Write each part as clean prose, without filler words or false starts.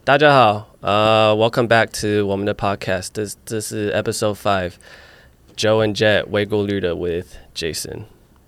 大家好，Welcome back to 我們的 podcast。這是 Episode 5 Joe and Jet 微過濾的 with Jason.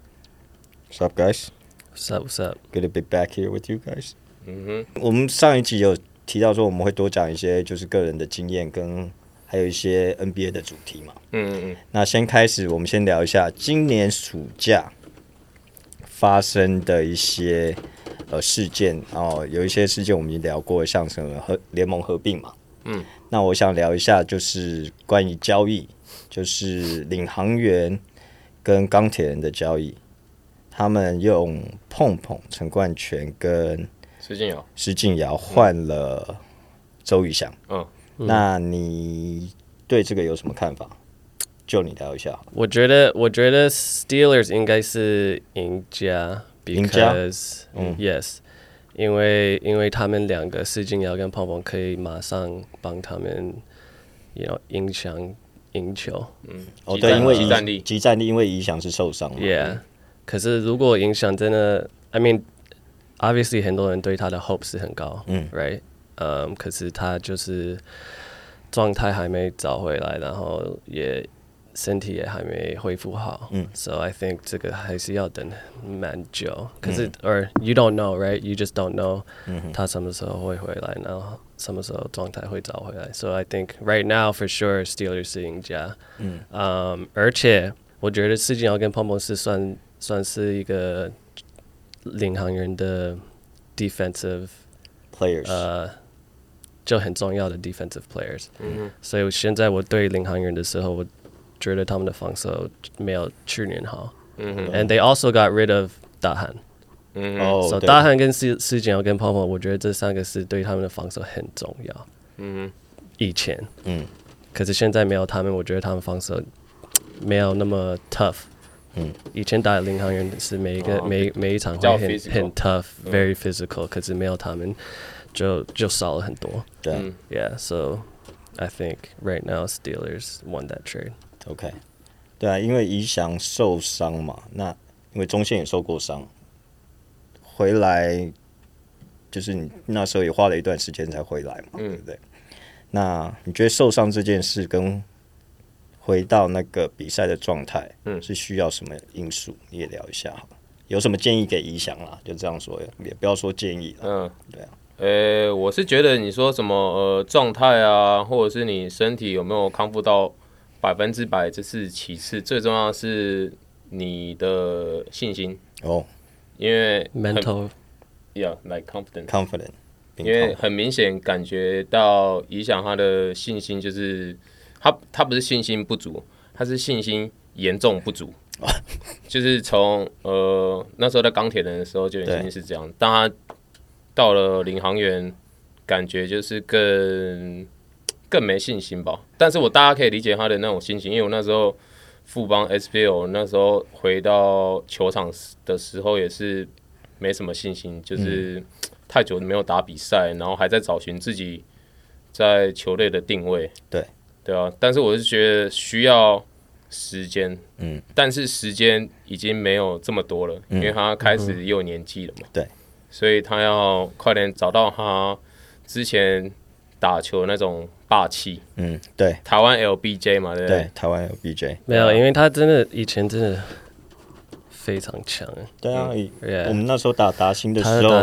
What's up, guys? What's up? Good to be back here with you guys. 我們上一集有提到說我們會多講一些就是個人的經驗跟還有一些 NBA 的主題嘛。那先開始，我們先聊一下今年暑假發生的一些事件哦，有一些事件我们已經聊過，像什麼聯盟合併嘛。那我想聊一下就是關於交易，就是領航員跟鋼鐵人的交易，他們用碰碰陳冠泉跟施晉堯換了周瑜翔。那你對這個有什麼看法？就你聊一下。我覺得 Steelers 應該是贏家。Because yes， 因為他們兩個施晉堯跟碰碰可以馬上幫他們影響贏球。 對，因為即戰力，因為影響是受傷嘛。 Yeah， 可是如果影響真的 ，I mean obviously 很多人對他的 hope 是很高，right？可是他就是狀態還沒找回來，然後也身體也還沒恢復好，so I think 這個還是要等蠻久。可是or you don't know, right? You just don't know 他什麼時候會回來，然後什麼時候狀態會找回來。So I think right now for sure Steelers 是贏家。而且我覺得施晉堯跟碰碰是算是一個領航員的 defensive players， 就很重要的 defensive players。所以現在我對領航員的時候，我覺得他們的防守沒有去年好。And they also got rid of 大漢。So 大漢跟施晉堯跟碰碰，我覺得這三個是對他們的防守很重要。以前。可是現在沒有他們，我覺得他們防守沒有那麼 tough。以前打領航員是每一場會很 tough，very physical。可是沒有他們，就少了很多。 對。 Yeah, so I think right now Steelers won that trade.OK， 对啊，因為宜翔受傷嘛，那因為中線也受過傷，回來就是你那時候也花了一段時間才回來嘛，對不對？那你覺得受傷這件事跟回到那個比賽的狀態，是需要什麼因素？你也聊一下好了，有什麼建議給宜翔啦？就這樣說，也不要說建議了。對啊。 我是覺得你說什麼狀態啊，或者是你身體有沒有康復到100%，這是其次，最重要的是你的信心。因為 mental，yeah， like confident， 因為很明顯感覺到影響他的信心，就是他不是信心不足，他是信心嚴重不足。就是從那時候在鋼鐵人的時候就已經是這樣，當他到了領航員，感覺就是更沒信心吧，但是大家可以理解他的那種心情，因為我那時候富邦 SBL 那時候回到球場的時候也是沒什麼信心，就是太久沒有打比賽，然後還在找尋自己在球隊的定位。對啊，但是我是覺得需要時間，但是時間已經沒有這麼多了，因為他開始也有年紀了嘛， 對， 所以他要快點找到他之前打球那種霸氣。 對， 台灣 LBJ 嘛，对不对？ 台灣 LBJ 沒有，因為他以前真的非常強。 對啊，我們那時候打達欣的時候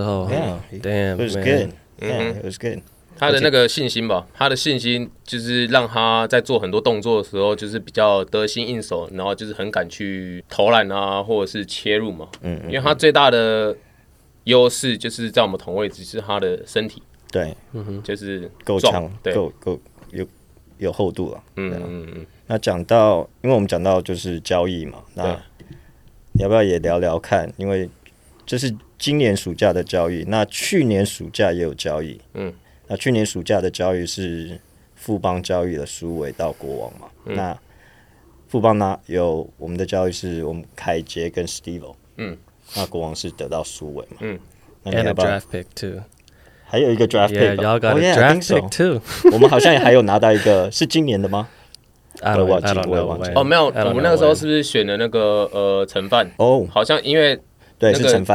，Damn，it was good，it was good。 他的那個信心吧，他的信心就是讓他在做很多動作的時候，就是比較得心應手，然後就是很敢去投籃啊，或者是切入嘛。因為他最大的優勢就是在我們同位置，是他的身體。對，就是夠強，夠有厚度了。那講到，因為我們講到就是交易嘛，那你要不要也聊聊看？因為這是今年暑假的交易，那去年暑假也有交易。那去年暑假的交易是富邦交易了蘇偉到國王嘛？那富邦有我們的交易是我們凱傑跟 Steve。那國王是得到蘇偉嘛？ 那你要不要 draft pick too？ 還有一個 draft pick，y'all got a draft pick too。 我們好像也還有拿到一個，是今年的嗎 ？I don't know。 沒有，我們那個時候是不是選了那個陳范？好像因為對是陳范。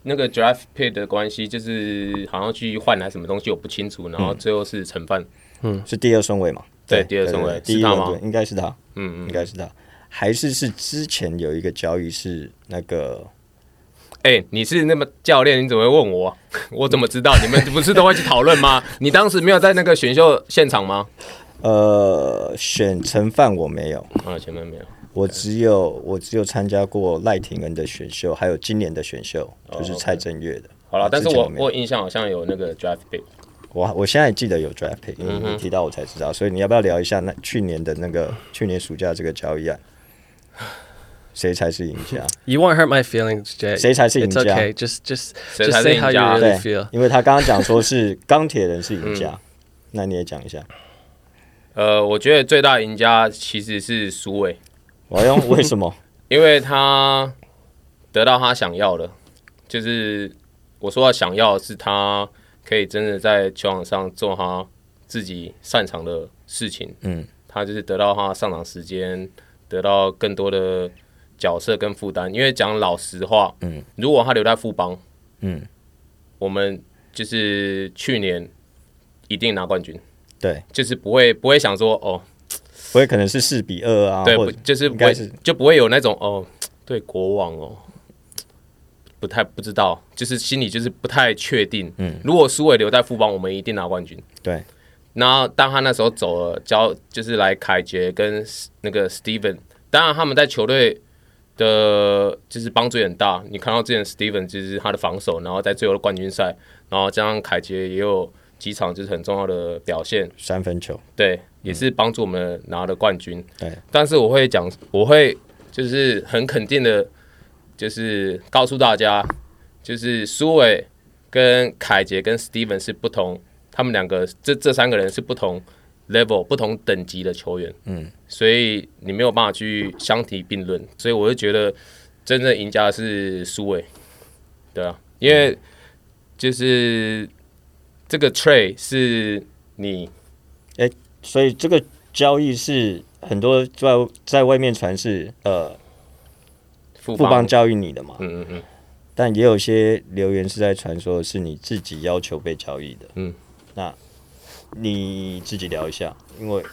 那個 draft pick 的關係，就是好像去換來什麼東西我不清楚，然後最後是陳范， 是第2順位嘛？ 對，第2順位， 第一輪嗎？應該是他， 应該是他，還是之前有一個交易是那個。 你是那麼教練，你怎麼會問我？我怎麼知道？你們不是都會去討論嗎？你當時沒有在那個選秀現場嗎？ 選陳范我沒有， 前面沒有。 我只有參加過賴廷恩的選秀，還有今年的選秀，就是蔡正月的。 好了，但是我印象好像有那個 draft pick。 我現在記得有 draft pick，因為你提到我才知道，所以你要不要聊一下去年暑假这個交易案？誰才是贏家 ？You won't hurt my feelings, Jay. 誰才是贏家 ？It's okay. Just say how you really feel. 因為他剛剛講說是鋼鐵人是贏家，那你也講一下。 我覺得最大贏家其實是蘇偉。 為什麼？ 因為他得到他想要的，就是我說的想要的是他可以真的在球場上做他自己擅長的事情。他就是得到他上場時間，得到更多的角色跟負擔，因為講老實話，如果他留在富邦，我們就是去年一定拿冠軍， 對， 就是不會想說不會可能是4-2啊， 對，就是不會就不會有那種對國王不知道，就是心裡就是不太確定，如果蘇偉留在富邦，我們一定拿冠軍， 對。 然後當他那時候走了，就是來凱杰跟那個 Steven， 當然他們在球隊的就是幫助也很大。你看到之前 Steven 就是他的防守，然後在最後的冠軍賽，然後加上凱杰也有幾場就是很重要的表現 ，3分球， 對，也是幫助我們拿了冠軍。 对， 但是我會就是很肯定的，就是告訴大家，就是蘇偉跟凱杰跟 Steven 是不同。他們兩個這3個人是不同 level 不同等級的球員，所以你沒有辦法去相提並論，所以我就覺得真正贏家是蘇偉，對啊，因為就是這個 trade 是你， 所以這個交易是很多在外面傳是富邦交易你的嘛，但也有些留言是在傳說是你自己要求被交易的，那你自己聊一下，因為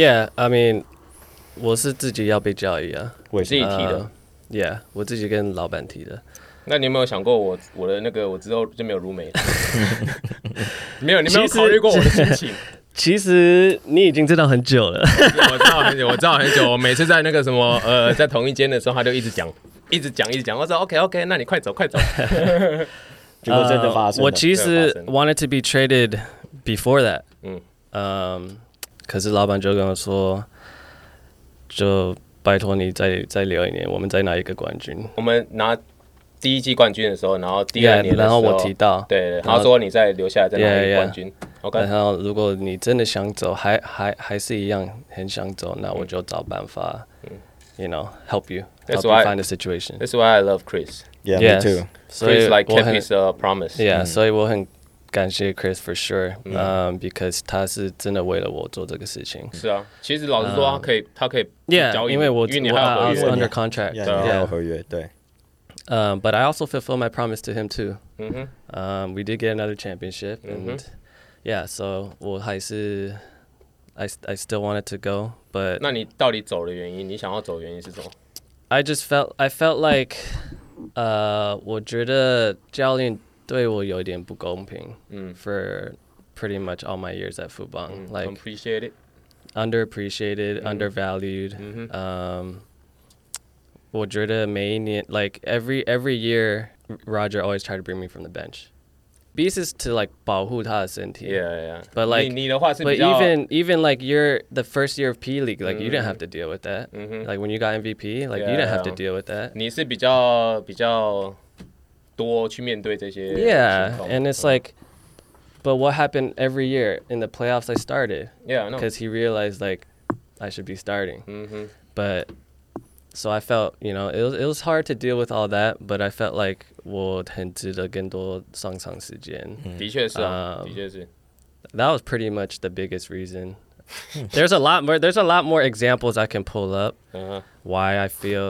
I mean 我是自己要被交易啊， 我自己提的我自己跟老闆提的。 那你有沒有想過我的那個我之後就沒有如美？沒有，你沒有考慮過我的心情？ 其實你已經知道很久了， 我知道很久。我每次在那個什麼在同一間的時候，他就一直講。我說 OK， 那你快走。 結果真的發生了。 我其實 wanted to be traded before that，可是老闆就跟我說，就拜託你再留一年，我們再拿一個冠軍。 我們拿第1季冠軍的時候，然後第2年的時候， 然後我提到， 對，他說你再留下來再拿一個冠軍。OK， 然後如果你真的想走，還是一樣很想走，那我就找辦法，you know, help you find a situation. That's why I love Chris. Yeah, me too. Chris like kept his promise. Yeah, 所以我很感謝 Chris for sure. Because 他是真的為了我做這個事情。 是啊，其實老實說，他可以交易， 因為你還有合約 under contract. 你還有合約，對。 But I also fulfill my promise to him too. We did get another championship, and so 我還是 I still wanted to go, but 那你到底走的原因？你想要走的原因是什麼？ I felt like 我覺得教練對我有點不公平。For pretty much all my years at Fubon, like underappreciated, undervalued. 我覺得每一年 like every year, Roger always tried to bring me from the bench. Beast is to like 保護他的身體。 Yeah. But like, 你的話是比較 but even like you're the first year of P League, like you didn't have to deal with that. Like when you got MVP, like you didn't have to deal with that. 你是比較多去面對這些。 Yeah, and it's like, but what happened every year in the playoffs? I started. Yeah, I know. Because he realized like I should be starting. But so I felt, you know, it was hard to deal with all that, but I felt like 我很值得更多上場時間。 的確是啊，的確是。 That was pretty much the biggest reason. There's a lot more examples I can pull up why I feel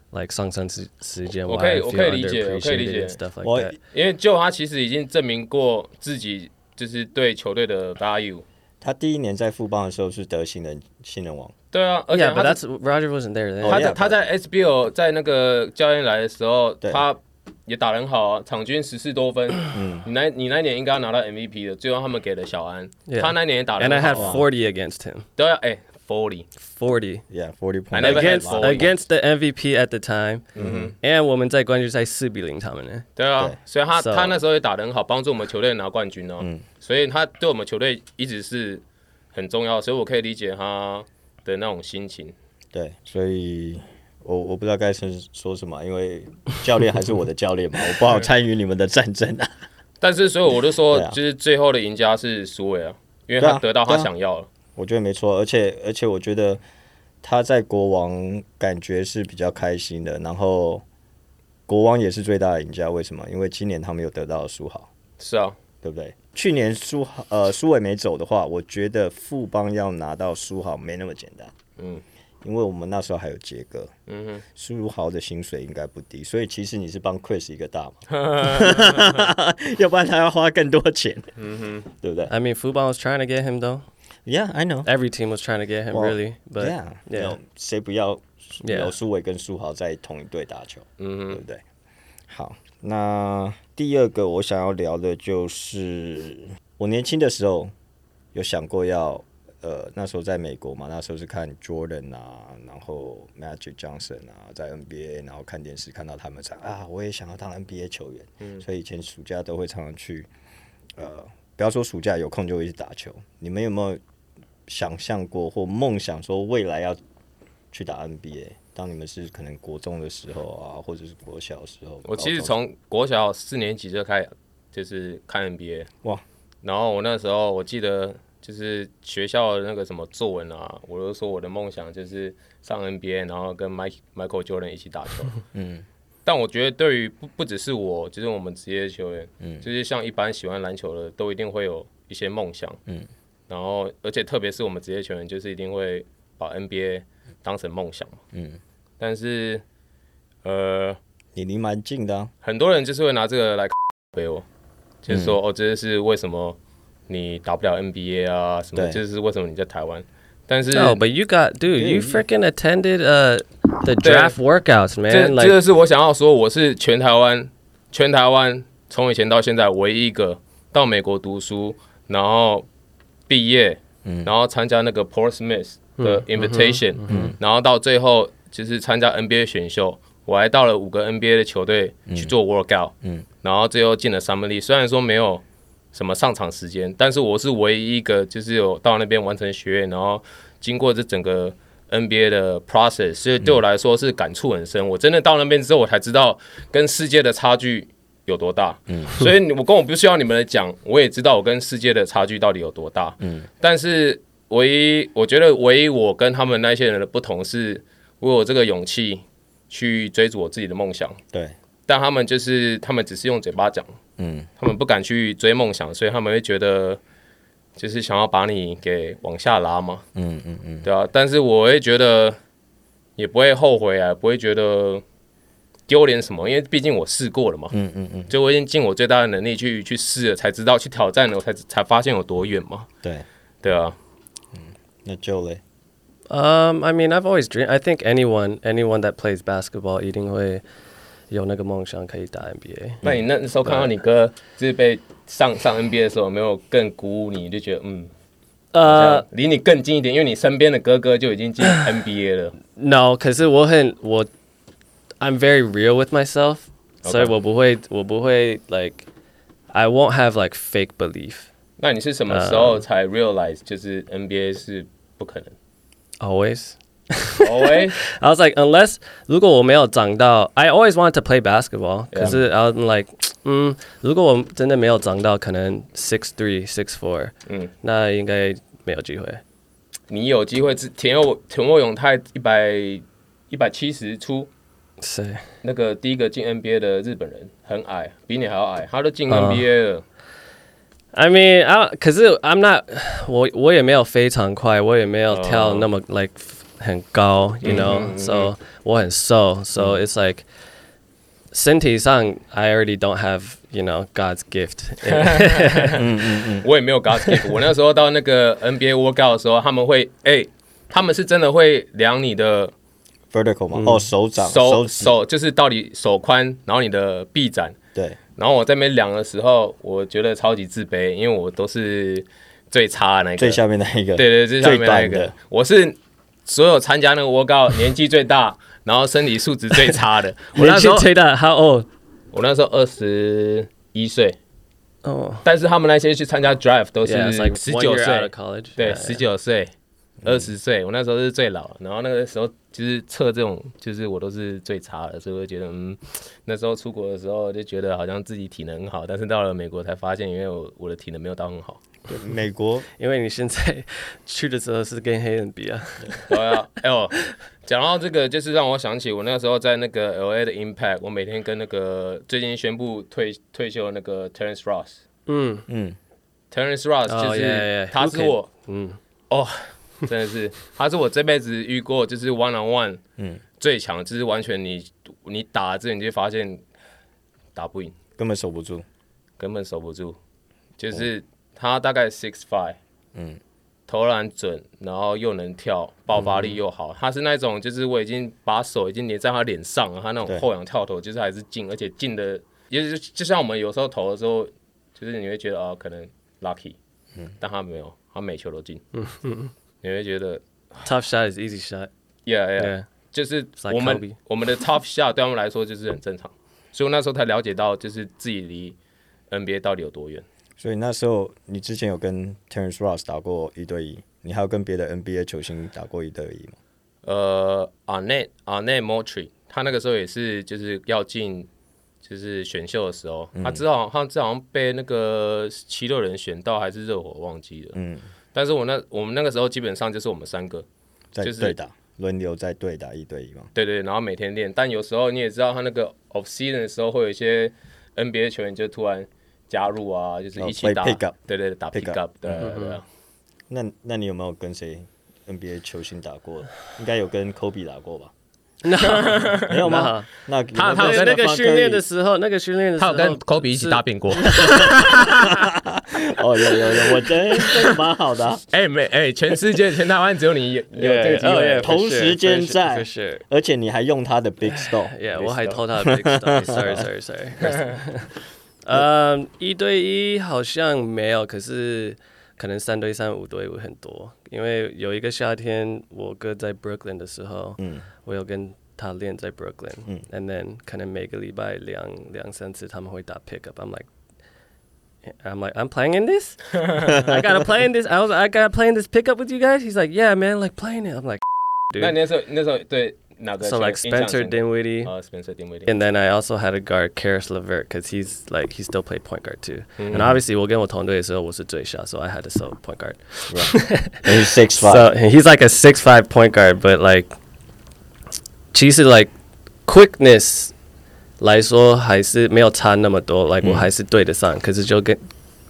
like 上升時間， 我可以理解，我可以理解 stuff like that。 因為就他其實已經證明過自己，就是對球隊的 value。 他第一年在富邦的時候是得新人王。 對啊，而且 but that's Roger wasn't there then。 他在 SBL 在那個教練來的時候，他也打得很好啊，場均14多分。你那年應該要拿到 MVP 的，最後他們給了小安，他那年也打得很好。 And I had 40 against him。 對啊，40 ，yeah 40 points against the MVP at the time。and 我們在冠軍賽4-0他們呢。 對啊，所以他那時候也打得很好，幫助我們球隊拿冠軍哦。所以他對我們球隊一直是很重要，所以我可以理解他的那種心情。 對，所以我不知道該說什麼，因為教練還是我的教練嘛，我不好參與你們的戰爭啊。 但是，所以我就說，就是最後的贏家是蘇偉啊，因為他得到他想要了。 我覺得沒錯，而且我覺得他在國王感覺是比較開心的，然後國王也是最大的贏家。為什麼？因為今年他們有得到了蘇豪。 是啊， 對不對？去年蘇偉沒走的話，我覺得富邦要拿到蘇豪沒那麼簡單。因為我們那時候還有傑哥，蘇豪的薪水應該不低，所以其實你是幫 Chris 一個大嘛，要不然他要花更多錢，對不對 ？I mean, Fubon was trying to get him though. Yeah, I know. Every team was trying to get him, really. But yeah, 誰不要有蘇偉跟蘇豪在同一隊打球，對不對？好，那第二個我想要聊的就是我年輕的時候有想過要。那時候在美國嘛，那時候是看 Jordan 啊，然後 Magic Johnson 啊，在 NBA， 然後看電視看到他們唱啊，我也想要當 NBA 球員，所以以前暑假都會常常去，不要說暑假有空就會去打球。你們有沒有想象過或夢想說未來要去打 NBA？ 當你們是可能國中的時候啊，或者是國小的時候？ 我其實從國小4年級就開始就是看 NBA， 哇，然後我那時候我記得。就是學校的那個什麼作文啊，我就說我的夢想就是上 NBA， 然後跟 Michael Jordan 一起打球。但我覺得對於不只是我，就是我們職業球員，就是像一般喜歡籃球的，都一定會有一些夢想。然後而且特別是我們職業球員，就是一定會把 NBA 當成夢想。但是你離蠻近的啊， 很多人就是會拿這個來背我，就是說這是為什麼。你打不了 NBA 啊，什麼？就是為什麼你在台灣？但是 ，No, but you got, dude, you freaking attended the draft workouts, man. 這個是我想要說，我是全台灣從以前到現在唯一一個到美國讀書，然後畢業，然後參加那個 Portsmouth 的 Invitation，然後到最後就是參加 NBA 選秀，我還到了5個 NBA 的球隊去做 workout，然後最後進了 Summer League，雖然說沒有。什麼上場時間？但是我是唯一一個，就是有到那邊完成學業，然後經過這整個 NBA 的 process， 所以對我來說是感觸很深。我真的到那邊之後，我才知道跟世界的差距有多大。所以我不需要你們來講，我也知道我跟世界的差距到底有多大。但是我覺得唯一我跟他們那些人的不同是，我有這個勇氣去追逐我自己的夢想。 對。 但他們只是用嘴巴講，他們不敢去追夢想，所以他們會覺得就是想要把你給往下拉嘛，對啊。但是我會覺得也不會後悔啊，不會覺得丟臉什麼，因為畢竟我試過了嘛，就我已經盡我最大的能力去試了，才知道去挑戰了，我才發現有多遠嘛，對啊。 那 Joe 嘞 ？I mean, I've always dreamed. I think anyone that plays basketball 一定會。有那個夢想可以打 NBA。 那你那時候看到你哥就是被上 NBA 的時候，有沒有更鼓舞你？就覺得離你更近一點，因為你身邊的哥哥就已經進 NBA 了。 No， 可是I'm very real with myself， 所以我不會 like I won't have like fake belief。 那你是什麼時候才 realize 就是 NBA 是不可能 ？Always。I was like, unless 如果我沒有長到 I always wanted to play basketball， 可是 I was like，如果我真的沒有長到可能 6'3", 6'4", 那應該沒有機會。 你有機會，田沃永泰170出， 誰？ 那個第一個進 NBA 的日本人，很矮，比你還要矮，他都進 NBA 了。 I mean， 可是 I'm not， 我也沒有非常快，我也沒有跳那麼like 很高，you know，so 我很瘦，so it's like 身体上 I already don't have you know God's gift 我也沒有 God's gift 我那時候到那個 NBA workout 的時候他們會他們是真的會量你的 vertical 嗎？手掌手就是到底手寬然後你的臂展對然後我在那邊量的時候我覺得超級自卑因為我都是最差的那個最下面那一個對最下面那一個我是所有參加那個 workout 年紀最大然後身體素質最差的我那時候最大 How old？ 我那時候21歲但是他們那些去參加 draft 都是19歲對19歲20歲我那時候是最老然後那個時候就是測這種就是我都是最差的所以我就覺得那時候出國的時候就覺得好像自己體能很好但是到了美國才發現因為我的體能沒有到很好对美國因為你現在去的時候是跟黑人比啊對啊講到這個就是讓我想起我那個時候在那個 LA 的 Impact 我每天跟那個最近宣布退休的那個 Terrence Ross Terrence Ross 就是他是我真的是他是我這輩子遇過就是 one on one 最強就是完全你打之前你就發現打不贏根本守不住就是他大概 6'5" 投籃準然後又能跳爆發力又好他是那種就是我已經把手已經粘在他臉上了他那種後仰跳投就是還是進而且進的就像我們有時候投的時候就是你會覺得可能 lucky 但他沒有他每球都進你會覺得 tough shot is easy shot yeah 就是我們的 tough shot 對他們來說就是很正常所以我那時候才了解到就是自己離 NBA 到底有多遠所以那時候你之前有跟 Terrence Ross 打過1對1你還有跟別的 NBA 球星打過1對1嗎 ？Arnett Moultrie 他那個時候也是就是要進就是選秀的時候他好像被那個76人選到還是熱火忘記了但是我們那個時候基本上就是我們3個在對打輪流在对打1對1嘛对然後每天練但有時候你也知道他那个 off season 的時候會有一些 NBA 球員就突然加入啊就是一起打對打 pick up 對那你有沒有跟誰 NBA 球星打過應該有跟 Kobe 打過吧沒有嗎？ 那他有那個訓練的時候， 他有跟 Kobe 一起大便過。 有，我覺得這個蠻好的。 全世界全台灣只有你有這個機會， 同時間在，而且你還用他的 Big Store。 我還偷他的 Big Store。Sorry。1對1好像沒有，可是可能3對3、5對5很多。因為有一個夏天，我哥在 Brooklyn 的時候，我有跟他練在 Brooklyn，and then 可能每個禮拜兩三次他們會打 pick up。I'm like, I'm playing in this? I gotta play in this? I gotta play in this pick up with you guys? He's like, yeah, man, like playing it. I'm like, dude. 那時候對。 So like Spencer Dinwiddie, and then I also had a guard Karis LeVert because he still played point guard too. And obviously, 我跟我同隊的時候我是最小 so I had to sub point guard. And he's 6'5". So he's like a 6'5" point guard, but like, 其實 like quickness 來說還是沒有差那麼多 like 我還是對得上，可是就跟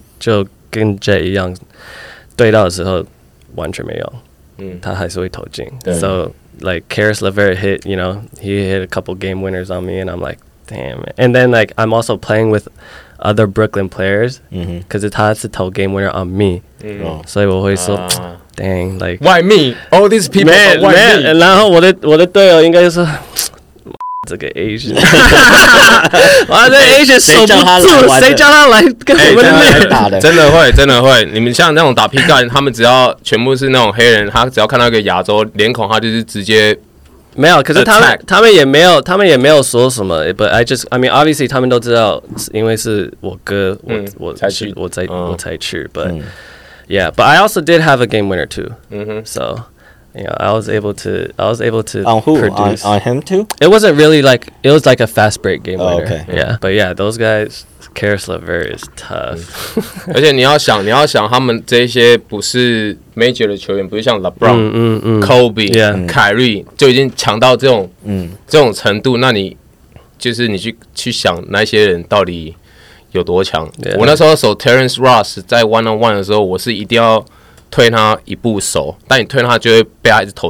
Jay 一樣，對到的時候完全沒有，他還是會投進。So like Karis LeVert hit, you know, he hit a couple game winners on me, and I'm like, damn. And then like I'm also playing with other Brooklyn players, because他是投 game winner on me, 所以我會說 dang, like why me? All these people, why me? 然後我的隊友應該就說這個 Asian， 哇，這 Asian 守不住，誰叫他來跟我們練打的？ 真的會。你們像那種打 pick up， 他們只要全部是那種黑人，他只要看到一個亞洲臉孔，他就是直接沒有。可是他們也沒有說什麼。But I mean, obviously 他們都知道，因為是我哥，我才去。But yeah, but I also did have a game winner too. So. Yeah, I was able to on who? Produce. On him too? It wasn't really like it was like a fast break game winner. Okay. Yeah, but yeah, those guys, Karis LeVert is tough. 而且你要想他們這些不是 major 的球員，不是像 LeBron、Kobe、Kyrie 就已經強到這種程度，那你就是你去想那些人到底有多強。我那時候守 Terrence Ross 在 one on one 的時候，我是一定要推他一步守，但你推他就會被他一直投進。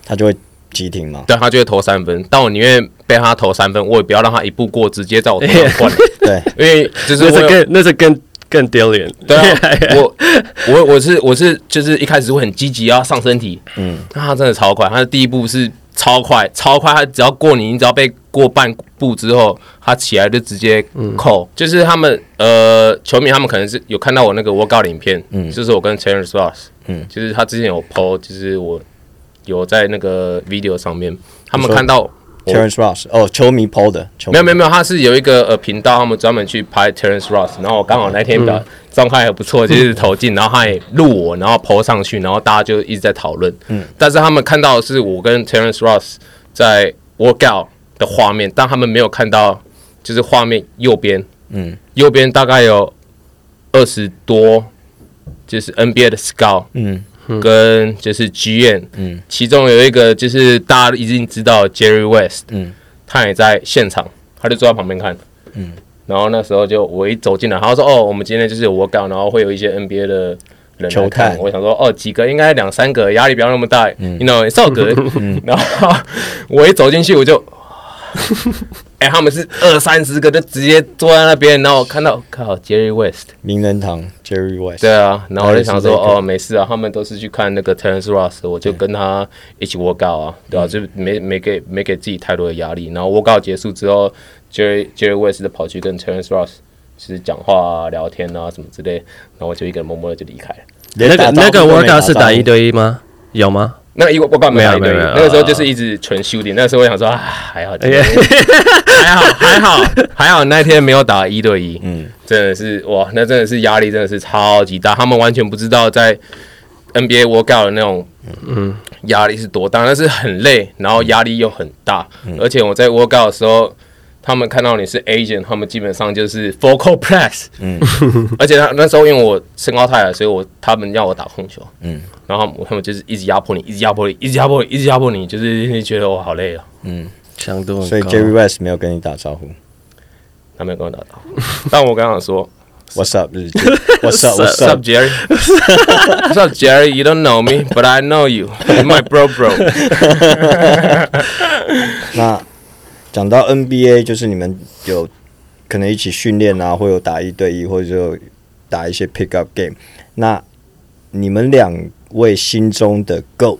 他就會急停嘛。 對，他就會投3分，但我寧願被他投3分，我也不要讓他一步過，直接在我頭上灌。 對， 因為就是那是更丟臉。 對啊，我是就是一開始會很積極要上身體，那他真的超快，他的第一步是超快，他只要過你只要被過半步之後，他起來就直接扣。就是他們球迷他們可能是有看到我那個 workout 影片，就是我跟 Terrence Ross，就是他之前有 po， 就是我有在那個 video 上面，他們看到。 Terrence Ross 球迷 PO 的， 沒有，他是有一個頻道，他們專門去拍 Terrence Ross， 然後我剛好那天的狀態還不錯，就是投進，然後他也錄我，然後 PO 上去，然後大家就一直在討論。但是他們看到的是我跟 Terrence Ross 在 workout 的畫面，但他們沒有看到就是畫面右邊，右邊大概有20多，就是 NBA 的 scout，跟就是 GM，其中有一個就是大家已經知道 Jerry West，他也在現場，他就坐在旁邊看，然後那時候就我一走進來，他說我們今天就是有 workout，然後會有一些 NBA 的人來看，我想說幾個應該2-3個，壓力不要那麼大，you know it's all good，然後我一走進去我就。他們是20-30個就直接坐在那邊，然後我看到靠 Jerry West 名人堂 Jerry West， 對啊，然後我就想說沒事啊，他們都是去看那個 Terrence Ross， 我就跟他一起 workout 啊，对啊，就没給自己太多的壓力。然後 workout 結束之後 ，Jerry West 就跑去跟 Terrence Ross 就是講話啊、聊天啊什麼之類，然後我就一個人默默的就離開了。 那個 workout 是打1對1嗎？有嗎？ 那個我剛沒有，那個時候就是一直純 shooting。那個時候我想說還好，還好那天沒有打1對1。真的是哇，那真的是壓力真的是超級大。他們完全不知道在 NBA workout 的那種壓力是多大，但是很累，然後壓力又很大。而且我在 workout 的時候，他們看到你是 agent， 他們基本上就是 focal press。而且那时候因為我身高太矮，所以他們要我打控球。然後他們就是一直壓迫你，一直壓迫你，就是觉得我好累啊。 强度很高。 所以 Jerry West 沒有跟你打招呼， 他沒有跟我打招呼。但我剛剛說 ，What's up？What's up, Jerry? What's up, Jerry? You don't know me, but I know you. You're my bro. 那講到 NBA， 就是你們有可能一起訓練啊，或有打1對1，或者就打一些 pick up game。那你們2位心中的 GOAT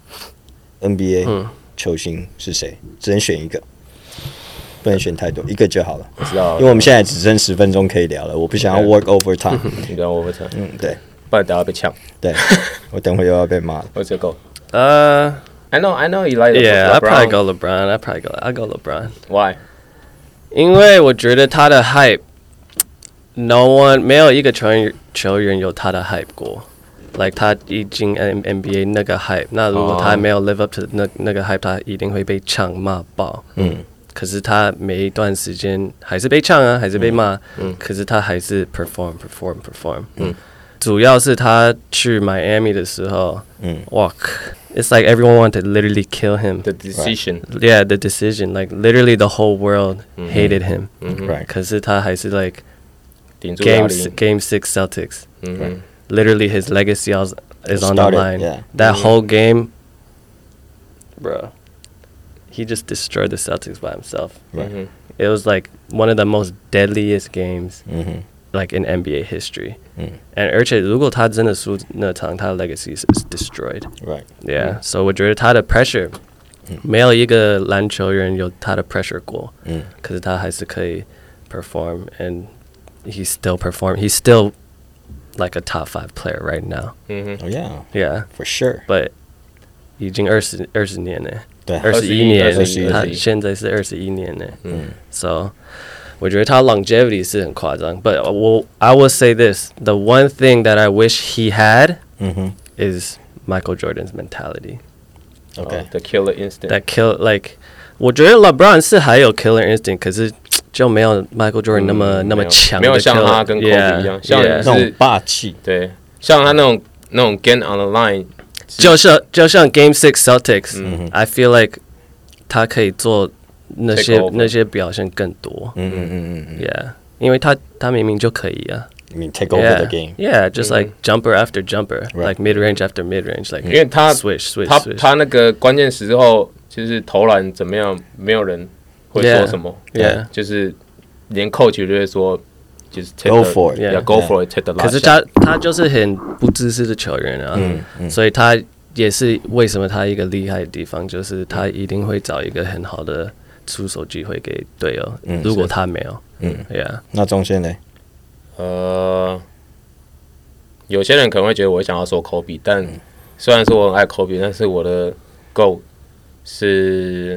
NBA 球星是誰？只能選一個，不能選太多，一個就好了。 知道， 因為我們現在只剩10分鐘可以聊了，我不想要 work overtime。 你聊 overtime？ 對， 不然等下被搶。 對，我等會又要被罵了。 What's your GOAT? I know you like Yeah, LeBron. I probably go LeBron. I go LeBron. Why? 因為我覺得他的 hype， 沒有一個球員有他的 hype 過。Like 他已經 NBA 那個 hype， 那如果他沒有 live up to 那個 hype， 他一定會被嗆罵爆。可是他每一段時間還是被嗆啊，還是被罵。可是他還是 perform。主要是他去 Miami 的時候，哇 ，it's like everyone wanted to literally kill him. The decision. Yeah, the decision. Like literally the whole world hated him. Right. 可是他還是 like Game 6 Celtics. Literally, his legacy is on the line. Yeah. That whole game, bro, he just destroyed the Celtics by himself. Right. It was like one of the most deadliest games, like in NBA history. And 而且如果他真的輸那場，他的 legacy is destroyed. Right. Yeah. So 我覺得他的 pressure，沒有一個籃球員有他的 pressure 過。可是他還是可以 perform, and he still perform. He's still like a top 5 player right now. Oh yeah. Yeah. For sure. But 已經20年了。 對 ，21年，他現在是21年了。So 我覺得他 longevity 是很誇張。But I will say this: the one thing that I wish he had is Michael Jordan's mentality. Okay. The killer instinct. That like 我覺得 LeBron 是還有 killer instinct， 可是就沒有 Michael Jordan 那麼強， 沒有像他跟 Kobe 一樣，像那種霸氣。 對，像他那種 game on the line， 就像 Game 6 Celtics，I feel like 他可以做那些表現更多。Yeah， 因為他明明就可以啊。 I mean, take over the game. Yeah, just like jumper after jumper, like mid range after mid range, like 因为他 switch。 他那個關鍵時候就是投籃怎麼樣，沒有人會說什麼，就是連 coach 就會說。就是 go for it，go for it，take the last shot。 可是他就是很不自私的球員啊，所以他也是為什麼他一個厲害的地方，就是他一定會找一個很好的出手機會給隊友。如果他沒有，Yeah。 那中線呢？ 有些人可能會覺得我想要說 Kobe， 但雖然說我很愛 Kobe， 但是我的 GOAT 是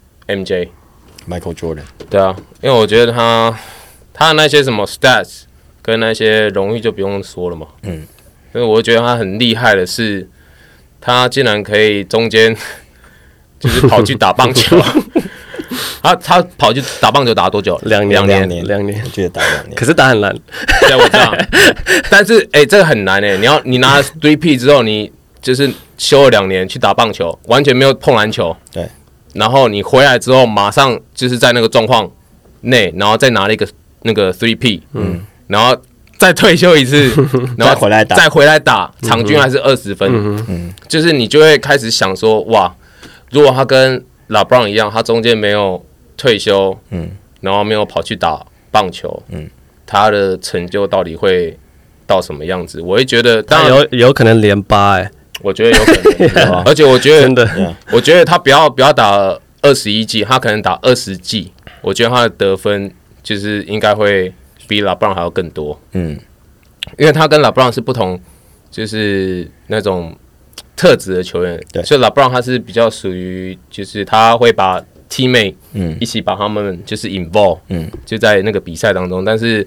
MJ。Michael Jordan。 對啊，因為我覺得他的那些什麼 stats 跟那些榮譽就不用說了嘛。因為我覺得他很厲害的是，他竟然可以中間就是跑去打棒球。他跑去打棒球打多久？2年， 我記得打2年。 可是打很爛。 對，我知道。但是這個很難你拿了 3P 之後，你就是休了2年去打棒球，完全沒有碰籃球。 對。然後你回來之後，馬上就是在那個狀況內，然後再拿了一個。那個 3P， 然後再退休一次，然後再回來打，場均還是20分，就是你就會開始想說，哇，如果他跟 LeBron 一樣，他中間沒有退休，然後沒有跑去打棒球，他的成就到底會到什麼樣子？我會覺得，當然有可能連8， 我覺得有可能，而且我覺得真的，我覺得他不要打21季，他可能打20季，我覺得他的得分。就是應該會比 LeBron 還要更多，因為他跟 LeBron 是不同，就是那種特質的球員，所以 LeBron 他是比較屬於，就是他會把 teammate 一起把他們就是 involve，就在那個比賽當中，但是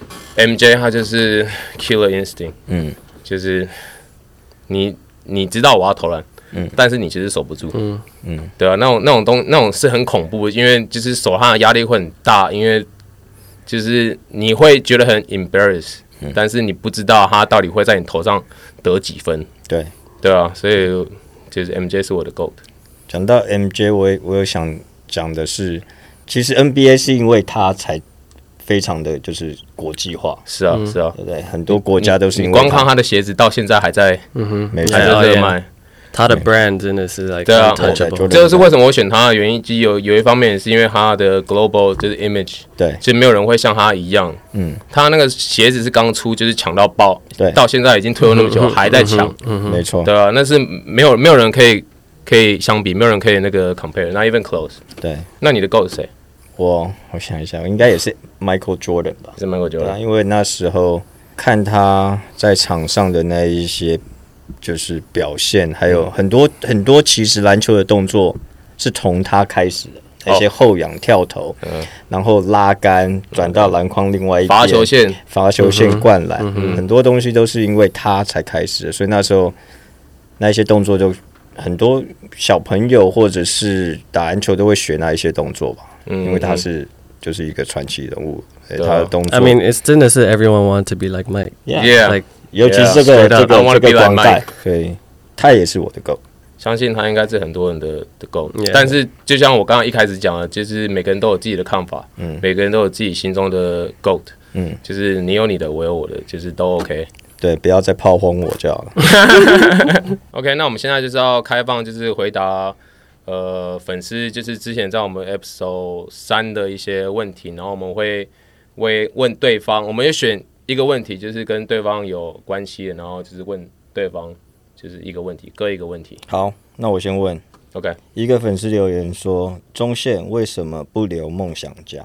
MJ 他就是 killer instinct，就是你知道我要投籃。但是你其實守不住，對啊，那種是很恐怖的，因為就是守他的壓力會很大，因為就是你會覺得很 embarrass，但是你不知道他到底會在你頭上得幾分，對啊，所以就是 MJ 是我的 GOAT。 講到 MJ， 我有想講的是，其實 NBA 是因為他才非常的就是國際化， 是啊，對不對？很多國家都是因為你光看他的鞋子到現在還在，還在熱賣。 他的 brand 真的是 like 對啊，這就是為什麼我選他的原因。其實有一方面也是因為他的 global 就是 image， 對，就沒有人會像他一樣。他那個鞋子是剛出，就是搶到爆，對，到現在已經退了那麼久，還在搶， 沒錯， 對啊，那是沒有人可以相比，沒有人可以那個 compare，not even close。對，那你的 GOAT 是誰？ 我想一下，應該也是 Michael Jordan 吧？ 是 Michael Jordan， 因為那時候看他在場上的那一些。就是表現，還有很多其實籃球的動作是從他開始的，那些後仰跳投，然後拉桿轉到籃筐另外一邊，罰球線灌籃，很多東西都是因為他才開始的，所以那時候那些動作就很多小朋友或者是打籃球都會學那一些動作吧，因為他是就是一個傳奇人物，他的動作 I mean it's 真的是 everyone want to be like Mike，yeah，like 尤其是這個光帶，對，他也是我的 GOAT， 相信他應該是很多人的 GOAT， 但是就像我剛剛一開始講的，就是每個人都有自己的看法，每個人都有自己心中的 GOAT，就是你有你的，我有我的，就是都 OK， 對，不要再炮轟我就好了。 OK， 那我們現在就是要開放，就是回答粉絲就是之前在我們 episode 3的一些問題，然後我們會問對方，我們也選一個問題，就是跟對方有關係的，然後就是問對方就是一個問題，各一個問題。 好，那我先問。 OK， 一個粉絲留言說，中線為什麼不留夢想家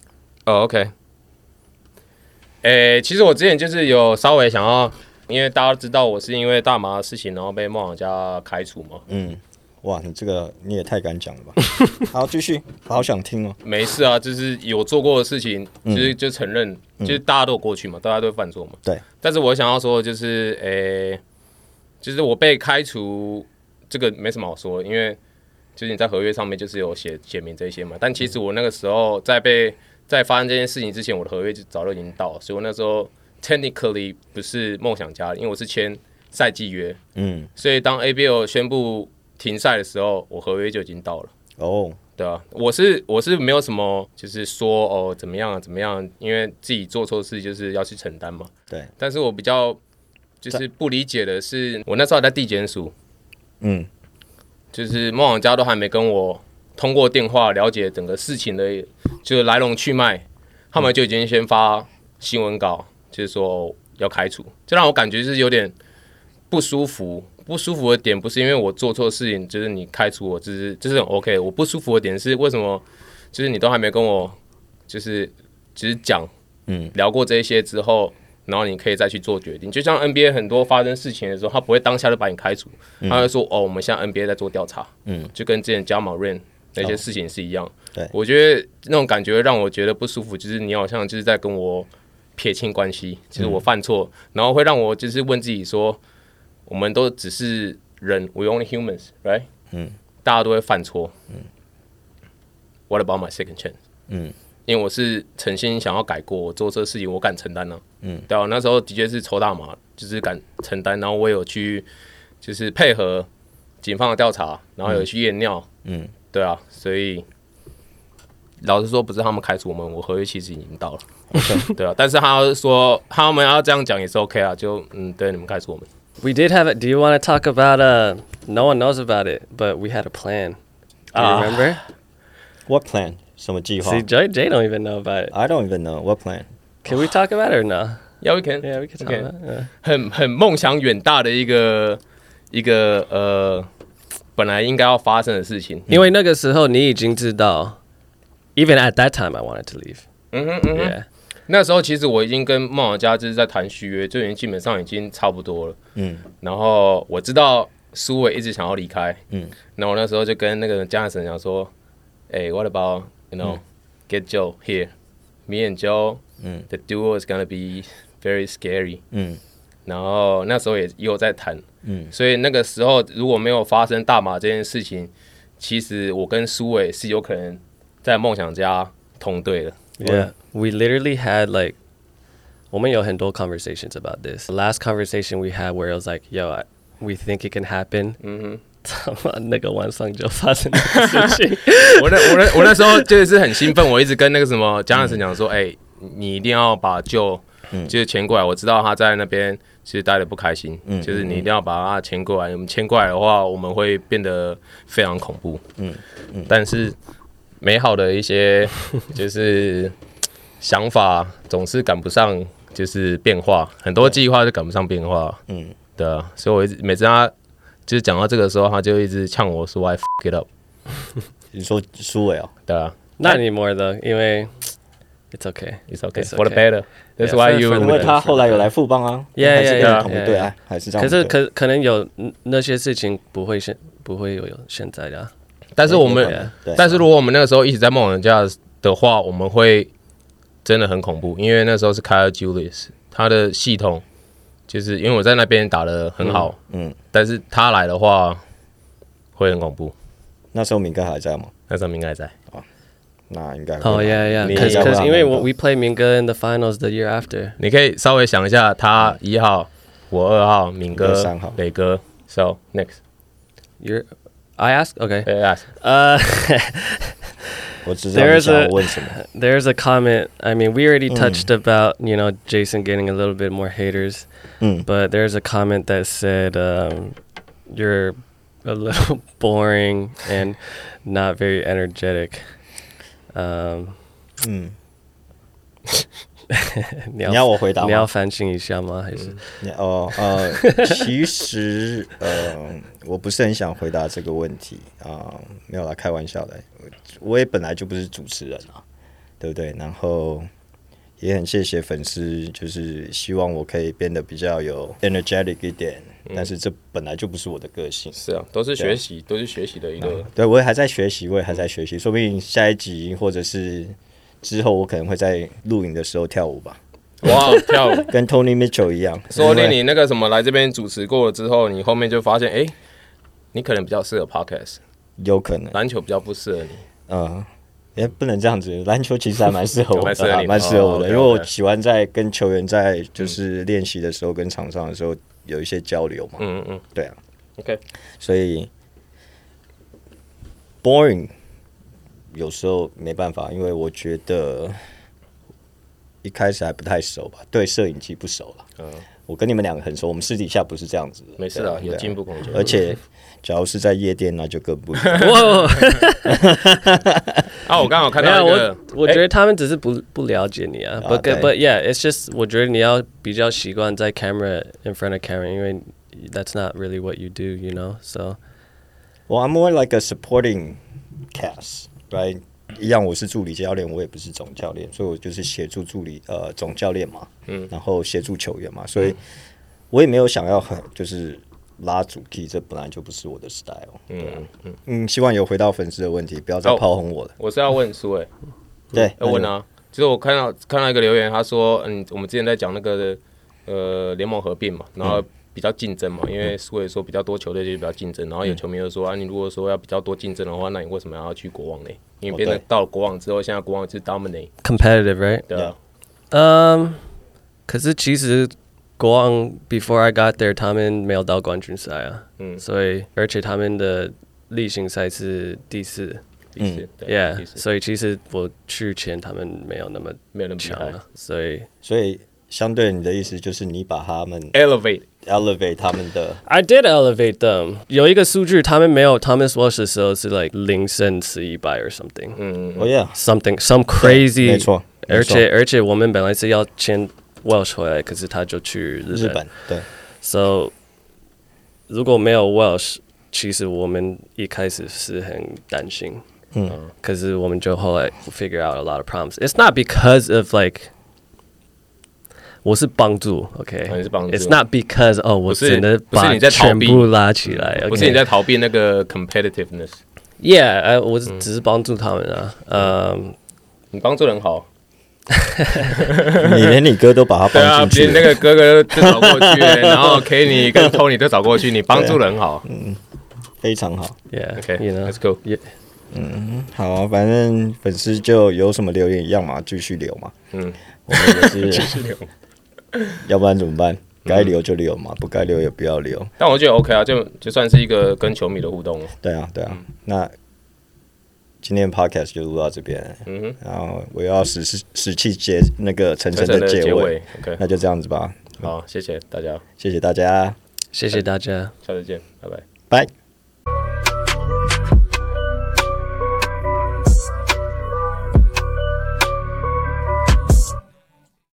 ？OK， 其實我之前就是有稍微想要，因為大家都知道我是因為大麻的事情，然後被夢想家開除嘛。 哇，你這個你也太敢講了吧！好，繼續，好想聽哦。 沒事啊，就是有做過的事情，就承認，就是大家都有過去嘛，大家都會犯錯嘛。 對。 但是我想要說的就是就是我被開除，這個沒什麼好說的，因為就是你在合約上面就是有寫明這些嘛。但其實我那個時候在發生這件事情之前，我的合約就早就已經到了，所以我那時候 technically 不是夢想家，因為我是簽賽季約。所以當 ABL 宣布停賽的時候，我合約就已經到了。 對啊，我是沒有什麼，就是說哦怎麼樣，因為自己做錯事就是要去承擔嘛。 对。但是我比較就是不理解的是，我那時候還在地檢署，就是夢想家都還沒跟我通過電話了解整個事情的，就是來龍去脈，他們就已經先發新聞稿，就是說要開除，這讓我感覺是有點不舒服。不舒服的點不是因為我做錯事情，就是你開除我，這是很 OK。我不舒服的點是為什麼，就是你都還沒跟我，就是講，聊過這些之後，然後你可以再去做決定。就像 NBA 很多發生事情的時候，他不會當下就把你開除，他會說哦，我們現在 NBA 在做調查，就跟之前加馬瑞那些事情是一樣。對，我覺得那種感覺讓我覺得不舒服，就是你好像就是在跟我撇清關係，就是我犯錯，然後會讓我就是問自己說。我們都只是人 ，we only humans, right？大家都會犯錯。What about my second chance？因為我是誠心想要改過，我做這事情我敢承擔呢。對啊，那時候的確是抽大麻，就是敢承擔，然後我有去就是配合警方的調查，然後有去驗尿。對啊，所以老實說，不是他們開除我們，我合約其實已經到了。對啊，但是他說他們要這樣講也是 OK 啊，就對，你們開除我們。 We did have it. Do you want to talk about no one knows about it, but we had a plan. Do you remember? What plan? 什麼計劃 See, Jay don't even know about it. I don't even know. What plan? Can we talk about it or no? Yeah, we can. Yeah, we can talk about it. 很夢想遠大的一個本來應該要發生的事情。 因為那個時候你已經知道 even at that time I wanted to leave. Yeah. 那時候其實我已經跟夢想家就是在談續約，就已經基本上已經差不多了。然後我知道蘇偉一直想要離開。然後我那時候就跟那個Jonathan講說，what about get Joe here? Me and Joe, the duo is gonna be very scary. 然後那時候也有在談。所以那個時候如果沒有發生大麻這件事情，其實我跟蘇偉是有可能在夢想家同隊的。 Yeah, we literally had我們有很多 conversations about this. The last conversation we had where it was like, yo, we think it can happen. 那個晚上就發生的事情。 我那時候就是很興奮，我一直跟那個什麼江老師講說，你一定要把Joe就是簽過來。我知道他在那邊其實待得不開心，就是你一定要把他簽過來。我們簽過來的話，我們會變得非常恐怖。但是美好的一些就是想法總是趕不上，就是變化，很多計劃就趕不上變化。对啊，所以我一直每次他就是講到這個的時候，他就一直嗆我說 I fuck it up。 你說蘇偉哦？ 對啊，Not anymore though，因為 it's okay，it's okay for the better。That's why you。 因為他後來有來富邦啊，還是跟同隊啊，還是這樣。 可是可能有那些事情不會有現在的。 但是如果我們那個時候一直在夢想家的話，我們會真的很恐怖，因為那時候是 Kyle Julius， 他的系統就是因為我在那邊打得很好，但是他來的話會很恐怖。 那時候明哥還在嗎？ 那時候明哥還在啊，那應該。 Oh yeah, because 因為we play 明哥 in the finals the year after。 你可以稍微想一下，他1號，我2號，明哥3號，磊哥。So next, I ask? Okay. Ask. There's a comment. I mean, we already touched about, Jason getting a little bit more haters. But there's a comment that said, you're a little boring and not very energetic. 你要我回答嗎？ 你要反省一下嗎？還是其實我不是很想回答這個問題沒有啦，開玩笑的。我也本來就不是主持人啊，對不對？然後也很謝謝粉絲，就是希望我可以變得比較有 energetic 一點，但是這本來就不是我的個性。 是啊，都是學習，都是學習的一個。 對，我也還在學習，說不定下一集或者是之後我可能會在錄影的時候跳舞吧。 哇，跳舞跟 Tony Mitchell 一樣。 說不定你那個什麼來這邊主持過了之後，你後面就發現，你可能比較適合 podcast， 有可能籃球比較不適合你。 不能這樣子，籃球其實還蠻適合我的，蠻適合我的，因為我喜歡在跟球員在就是練習的時候跟場上的時候有一些交流嘛。對啊。 OK， 所以 boring 有時候沒辦法，因為我覺得一開始還不太熟吧，對攝影機不熟了。我跟你們两個很熟，我們私底下不是這樣子的。 沒事啊，有進步空間。 而且，假如是在夜店，那就更不一樣。 我剛好看到一個， 我覺得他們只是不了解你啊。But yeah, it's just 我覺得你要比較習慣在 camera in front of camera， 因為 that's not really what you do, you know. So, well, I'm more like a supporting cast, right? 一樣，我是助理教練，我也不是總教練，所以我就是協助總教練嘛，然後協助球員嘛，所以我也沒有想要就是拉主題，這本來就不是我的 style。希望有回到粉絲的問題，不要再炮轟我了。 我是要問蘇偉， 對， 要問啊，就是我看到一個留言，他說，我們之前在講那個聯盟合併嘛，然後比較競爭嘛，因為蘇偉說比較多球隊就比較競爭，然後有球迷就說你如果說要比較多競爭的話，那你為什麼要去國王呢？因為變成到了國王之後，現在國王是 dominate competitive, right? 對啊。 可是其實國王 before I got there， 他們沒有到冠軍賽啊。所以而且他們的例行賽是第四。Yeah， 所以其實我去前他們沒有那麼強啊，所以相对你的意思就是你把他们 elevate 他们的 I did elevate them。有一個數據，他們沒有 Thomas Welsh 的時候是 like 0勝11敗 or something。some crazy。 沒錯。 而且我們本來是要簽 Welsh 回來，可是他就去日本。 對。 So 如果沒有 Welsh， 其實我們一開始是很擔心。可是我們就後來 figure out a lot of problems. It's not because of like 我是幫助 ，OK？ 你是幫助。 It's not because 我真的把全部拉起來， 不是你在逃避那個 competitiveness。Yeah， 我只是幫助他們啊。 你幫助人好。 你連你哥都把他幫進去。 對啊，那個哥哥就找過去，然後 Kenny 跟 Tony 都找過去，你幫助人好。 非常好。 Yeah，OK，Let's go。 好啊，反正粉絲就有什麼留言一樣嘛，繼續留嘛。我們也是繼續留。要不然怎麼辦？該留就留嘛，不該留也不要留。 但我覺得 OK 啊，就算是一個跟球迷的互動。 對啊。那今天的 podcast 就錄到這邊。然後我要使氣那個誠誠的結尾。OK， 那就這樣子吧。 好，謝謝大家。 謝謝大家。 謝謝大家。 下次見，拜拜。 拜。